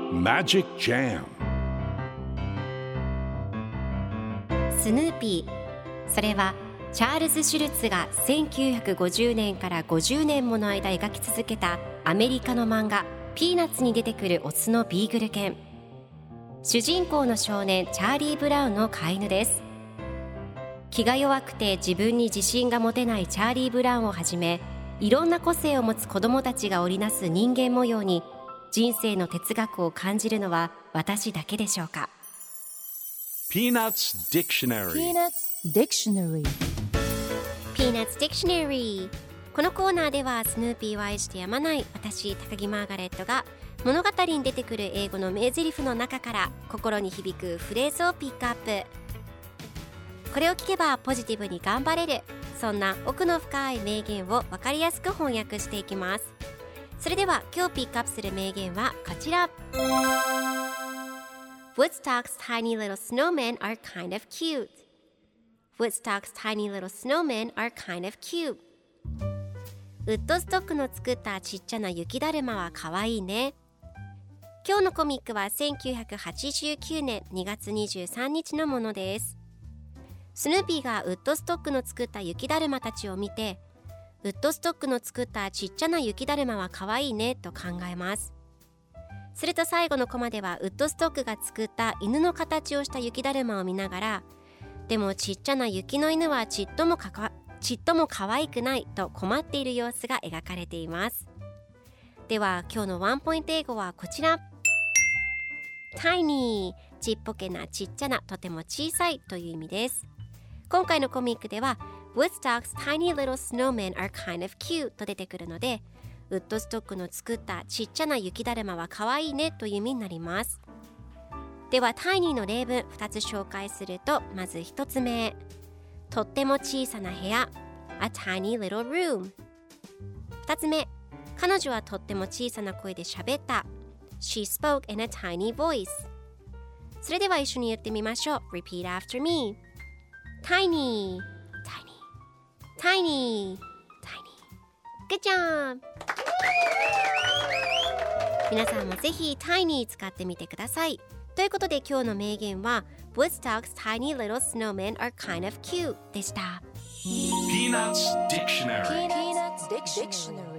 Magic Jam スヌーピー、それはチャールズ・シュルツが1950年から50年もの間描き続けたアメリカの漫画ピーナッツに出てくるオスのビーグル犬。主人公の少年チャーリー・ブラウンの飼い犬です。気が弱くて自分に自信が持てないチャーリー・ブラウンをはじめ、いろんな個性を持つ子どもたちが織りなす人間模様に人生の哲学を感じるのは私だけでしょうか。 Peanuts Dictionary Peanuts Dictionary。 このコーナーではスヌーピーを愛してやまない私高木マーガレットが物語に出てくる英語の名台詞の中から心に響くフレーズをピックアップ。これを聞けばポジティブに頑張れる、そんな奥の深い名言を分かりやすく翻訳していきます。それでは今日ピックアップする名言はこちら。 Woodstock's tiny little snowmen are kind of cute. Woodstock's tiny little snowmen are kind of cute. ウッドストックの作ったちっちゃな雪だるまはかわいいね。今日のコミックは1989年2月23日のものです。スヌーピーがウッドストックの作った雪だるまたちを見て、ウッドストックの作ったちっちゃな雪だるまはかわいいねと考えます。すると最後のコマではウッドストックが作った犬の形をした雪だるまを見ながら、でもちっちゃな雪の犬はちっとも可愛くないと困っている様子が描かれています。では今日のワンポイント英語はこちら。 Tiny、 ちっぽけな、ちっちゃな、とても小さいという意味です。今回のコミックでは Woodstock's tiny little snowmen are kind of cute と出てくるので、ウッドストックの作ったちっちゃな雪だるまはかわいいねという意味になります。ではタイニーの例文2つ紹介すると、まず1つ目、とっても小さな部屋 A tiny little room。 2つ目、彼女はとっても小さな声で喋った She spoke in a tiny voice。 それでは一緒に言ってみましょう。 Repeat after me。 Tiny Tiny Tiny Good job。 皆さんもぜひ Tiny 使ってみてください。ということで今日の名言は Woodstock's tiny little snowmen are kind of cute でした。 Peanuts Dictionary Peanuts Dictionary